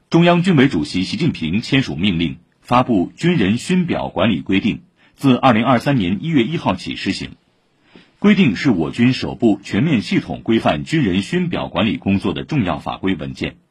中央军委主席习近平签署命令，发布《军人勋表管理规定》，自2023年1月1号起施行。规定是我军首部全面系统规范军人勋表管理工作的重要法规文件。